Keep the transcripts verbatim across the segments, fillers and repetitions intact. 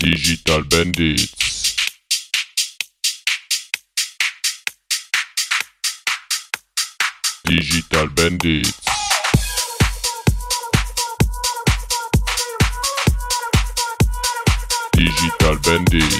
Digital Bandits. Digital Bandits. Digital Bandits.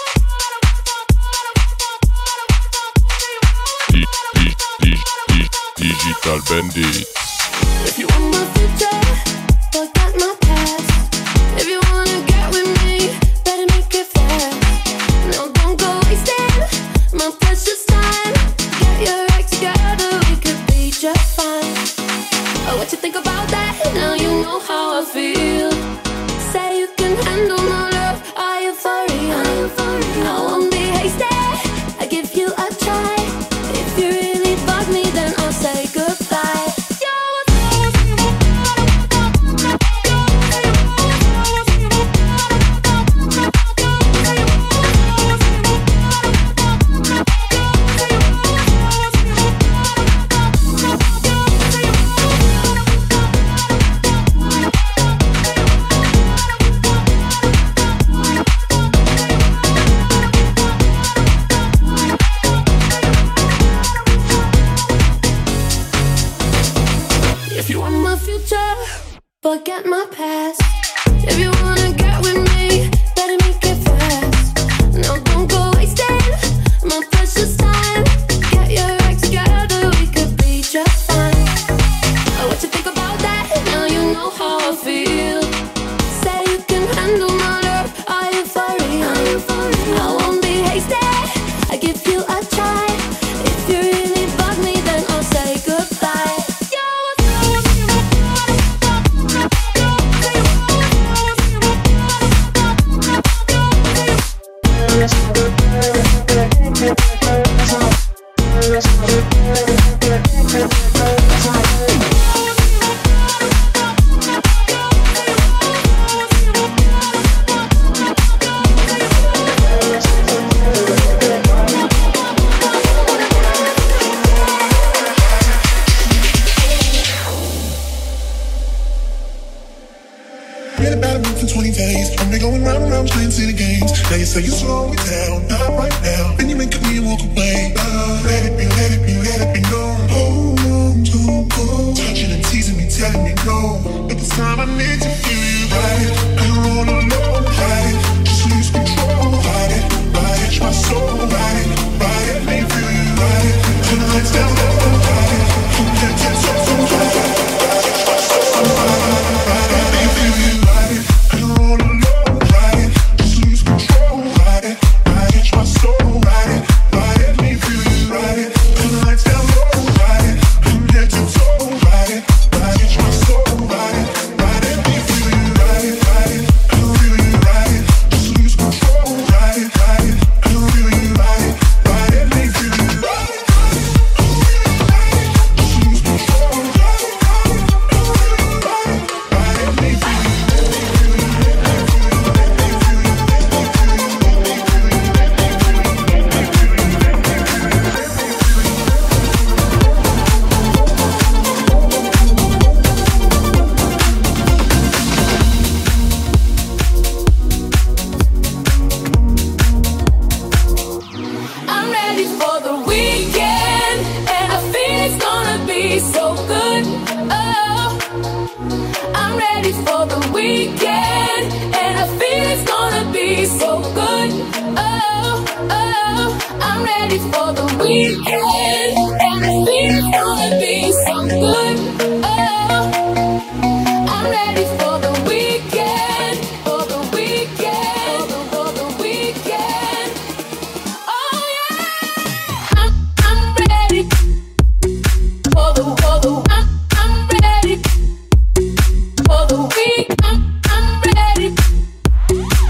Di- di- di- di- Digital Bandits. If you want my future, forget my past. If you wanna get with me, better make it fast. No, don't go wasting my precious time. Get your act together, we could be just fine. Oh, what you think about that? Now you know how I feel. Say you can handle my love, are you for real? I won't be hasty, I give you a try. If you really bug me, then I'll say goodbye. Forget my past. If you wanna get with me, better make it fast. No, don't go wasting my precious time. Get your act together, we could be just fine. Oh, what you think about that? Now you know how I feel. Say you can handle my love, are you for real? I won't be hasty, I give you a try. If you really bug me, then I'll say goodbye. Read about it for twenty days. I'm been going round and round playing city games. Now you say you slow it down, not right now. Then you make me walk away. Uh, let it be, let it be, let it be known. Hold on to go. Touching and teasing me, telling me no. But this time I need to feel you right. I don't wanna know, right? Just lose control, ride it, ride it, my soul, ride it, ride it, let me feel you right. Turn the lights down low, ride it, you can't get so, so ride it, ride it, my soul, ride it, ride it, let me feel you.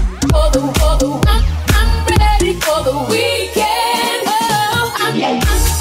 For the weekend, oh, I'm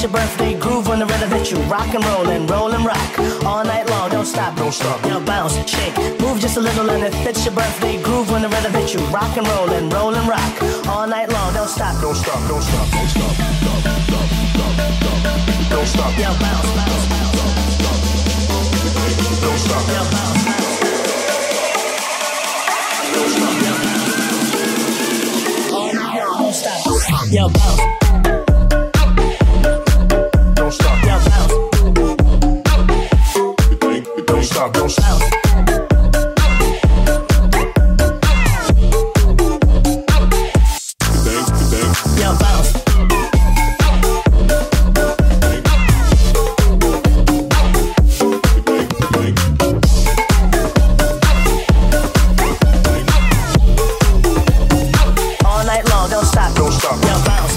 it's your birthday groove when the rhythm hits you. Rock and roll and roll and rock all night long. Don't stop, don't stop. Yo, bounce, shake, move just a little, and if it's your birthday groove when the rhythm hits you. Rock and roll and roll and rock all night long. Don't stop, don't stop, don't stop, don't stop, stop, stop, stop, stop. Don't stop. Yo, bounce, bounce, bounce, stop. Don't stop. Yo, bounce, bounce. Don't stop. Yo, bounce. All night long, don't stop. Yo, bounce. Don't stop. Yo, bounce. Don't stop. Don't stop. Yo, bounce. All night long, don't stop. Don't stop. Yo, bounce.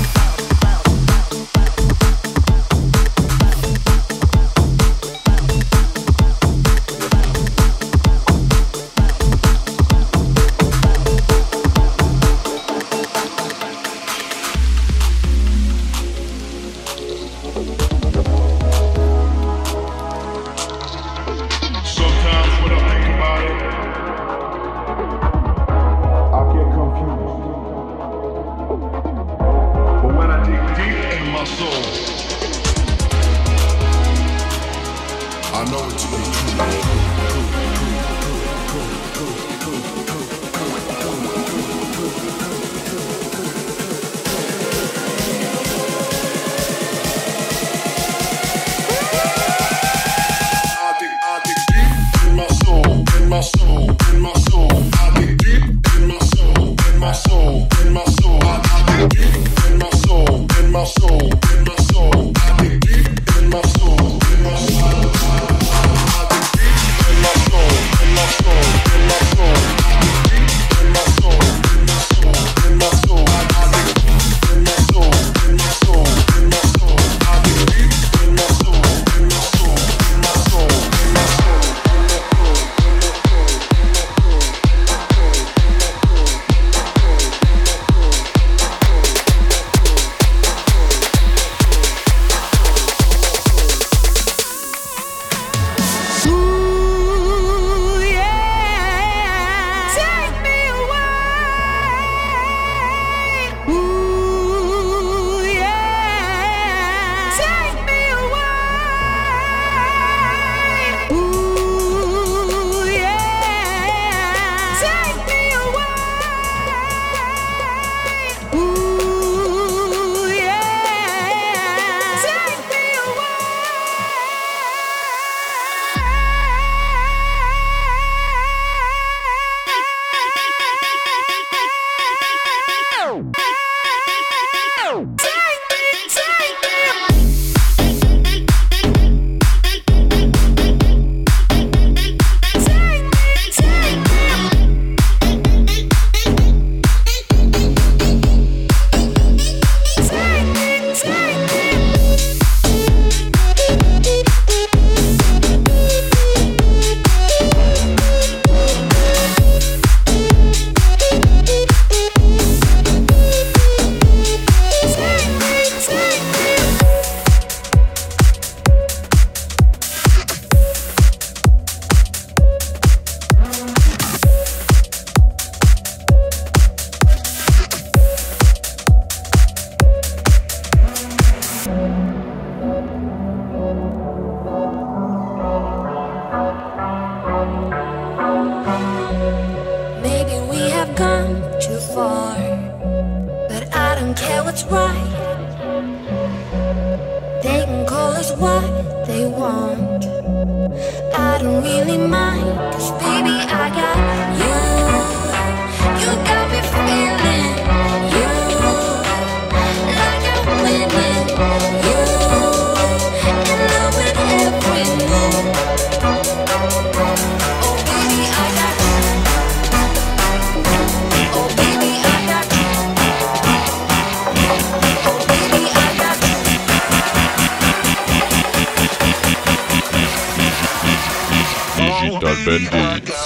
Digital Bandits.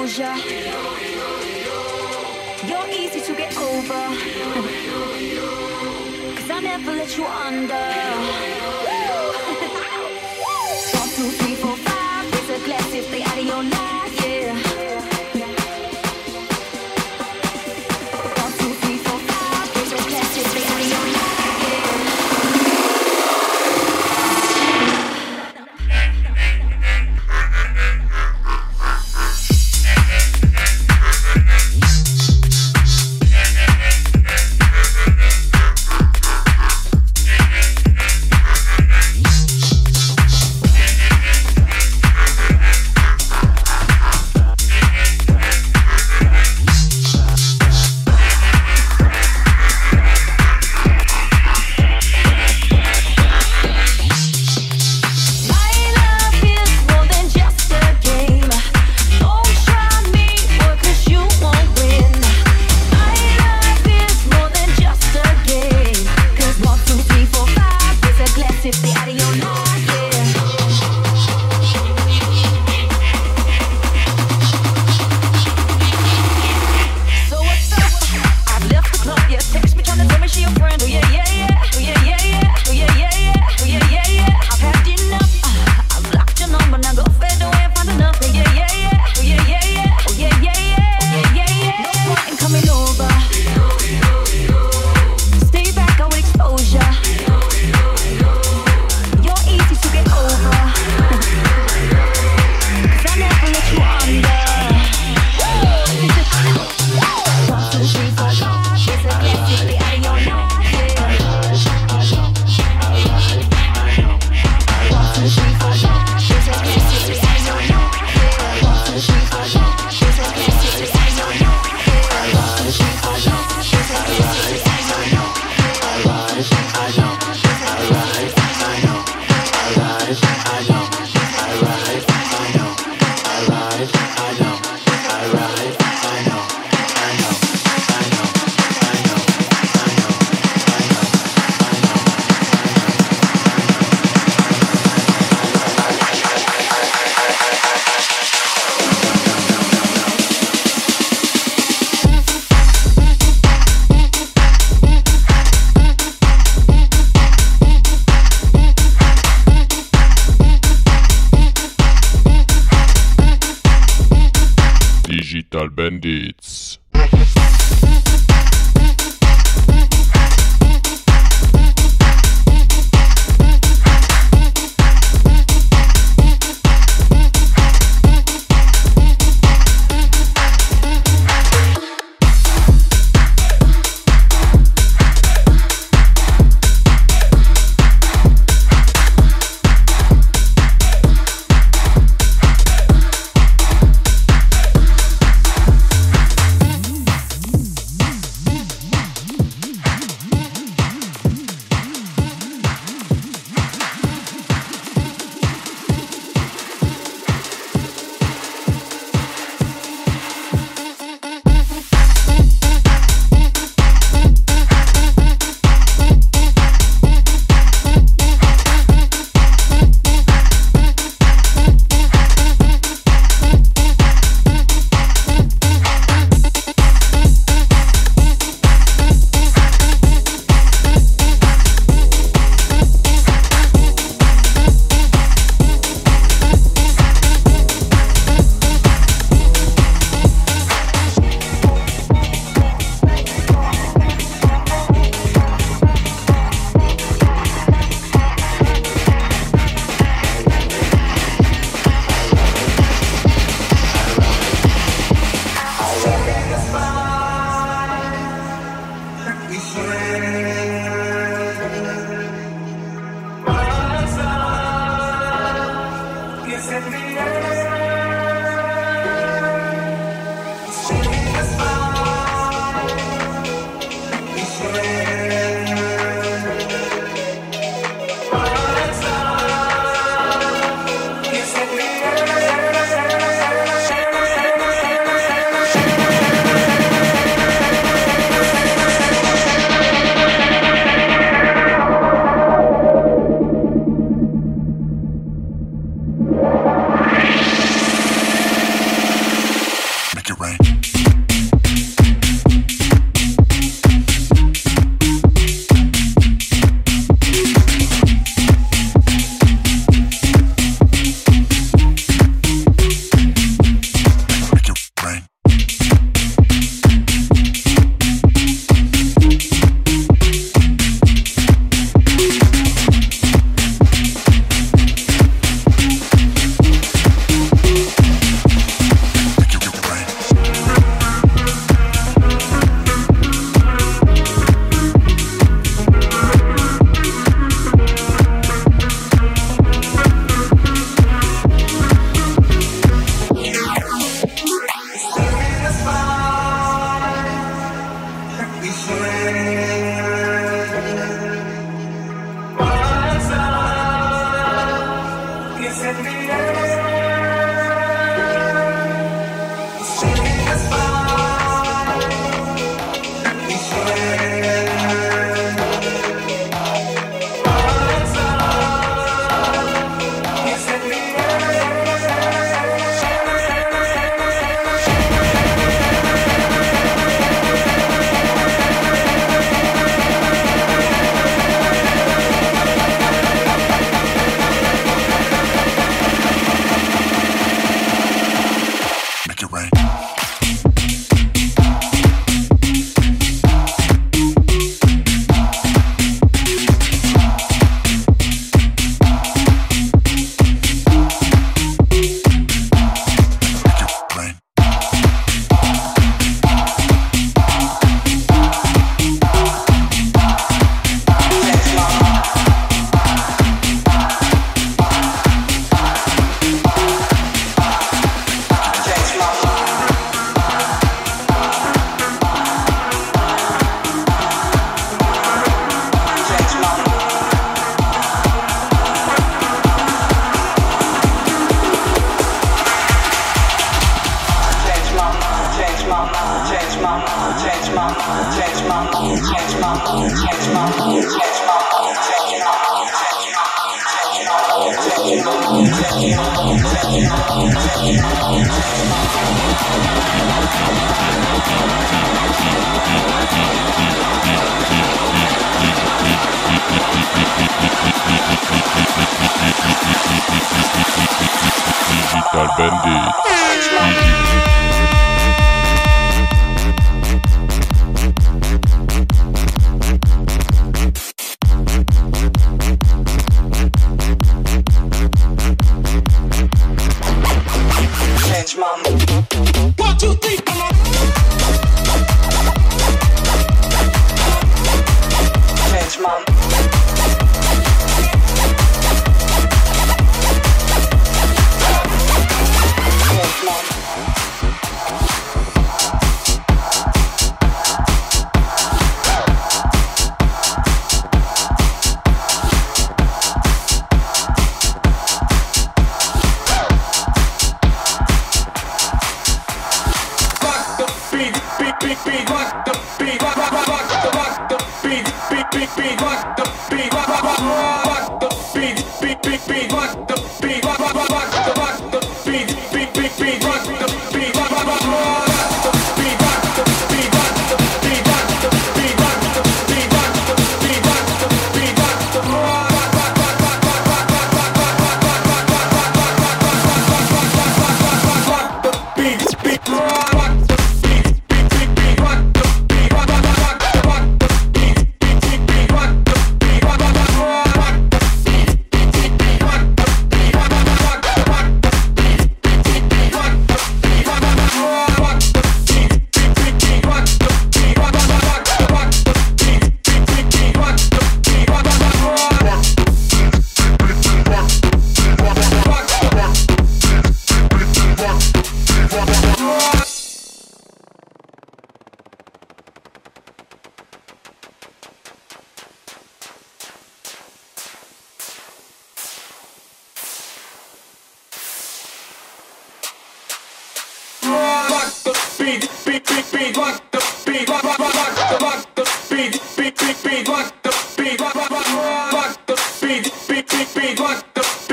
exposure. You're easy to get over. Cause I never let you under. One, two, three, four, five. Raise a glass if they out of your life, yeah. One, two, three, four, five. Raise a glass if they out of your life, Digital Bandits. Digital Bandit. One, two, three, come on. Change mom. Change mom.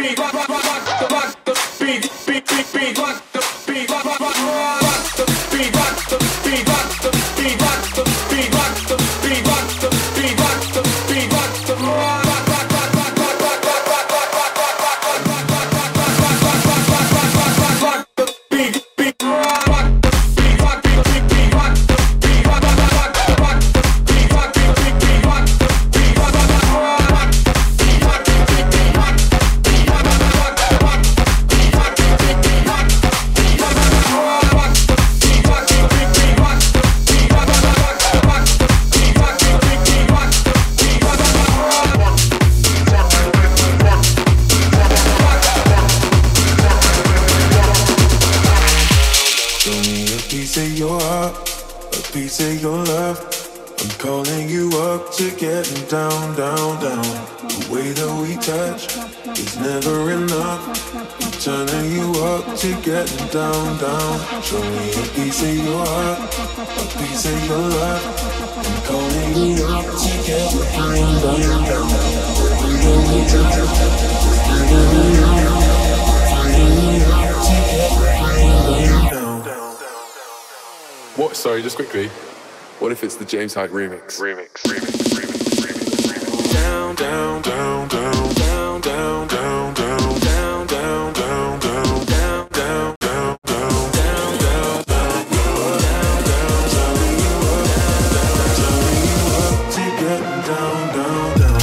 Beat, me a piece of your heart, a piece of your love. I'm calling you up to getting down, down, down. The way that we touch is never enough. I'm turning you up to getting down, down. Show me a piece of your heart, a piece of your love. I'm calling you up to getting down, down, down. The way we touch is never enough. Turning you up to getting down, down. What? Sorry, just quickly. What if it's the James Hype remix? Remix, remix, remix, remix, remix. Down, down, down, down, down, down, down, down, down, down, down, down, down, down, down, down, down, down, down, turning you up, turning you up to getting down, down, down.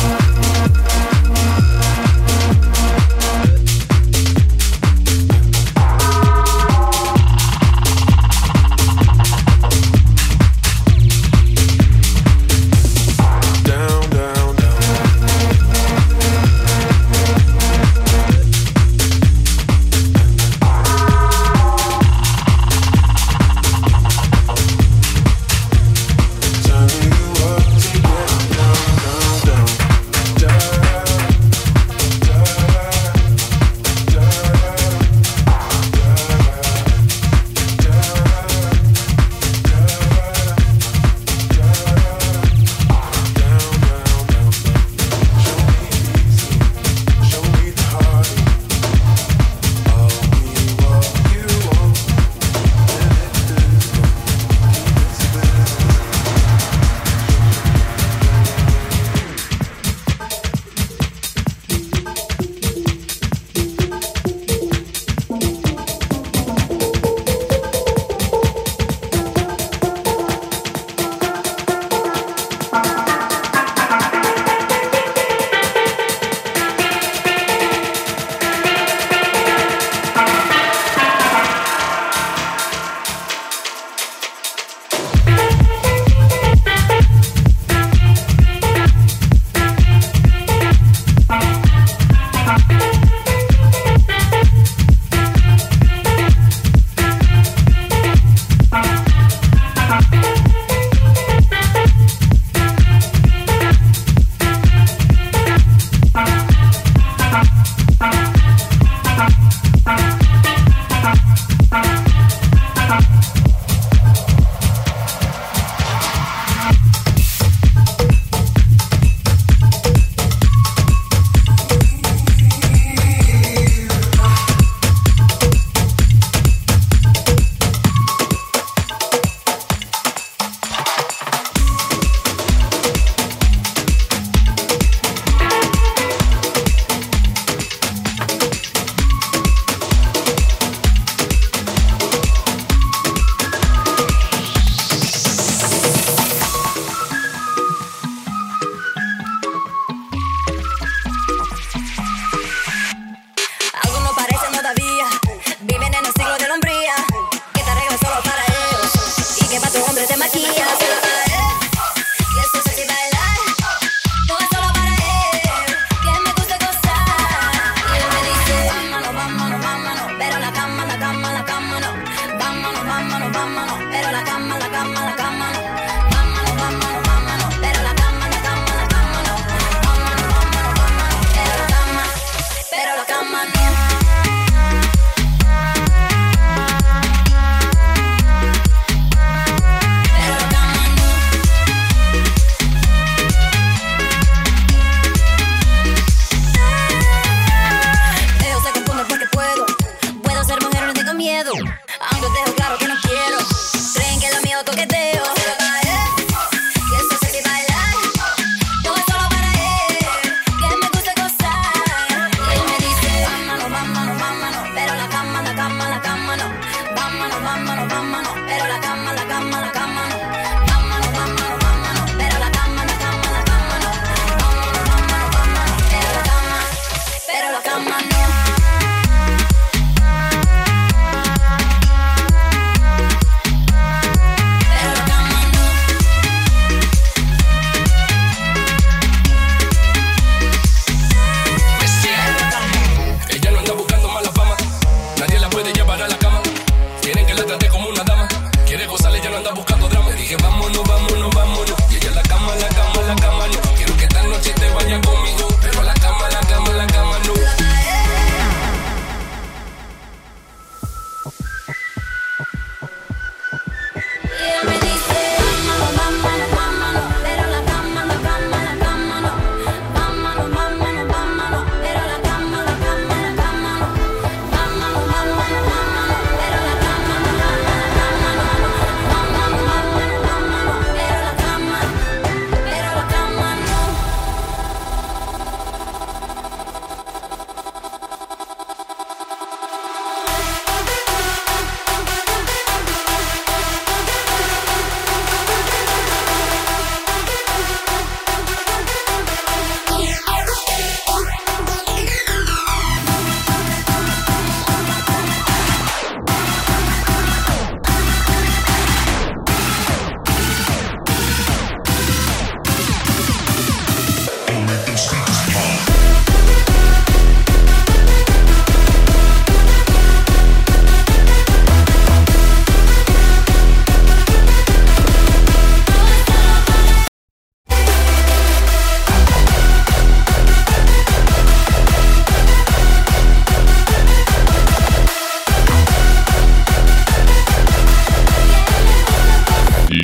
Aunque os dejo claro que no quiero. Creen que lo mío toqueteo.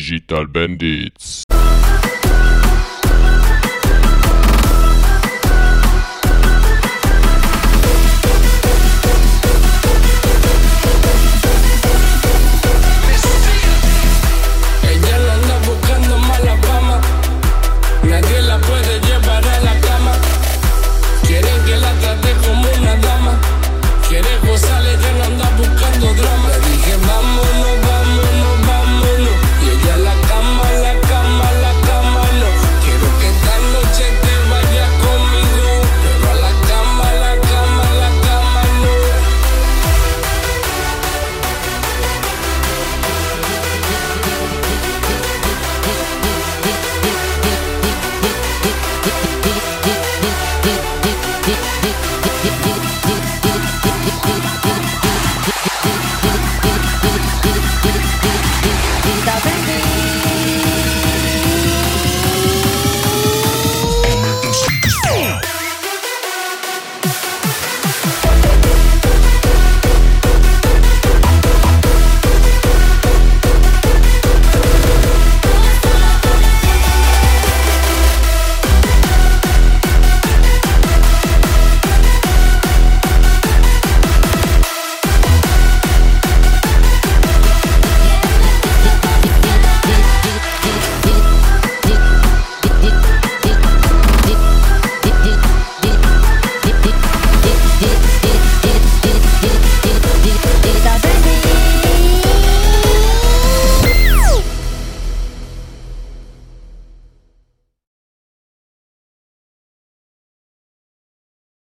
Digital Bandits.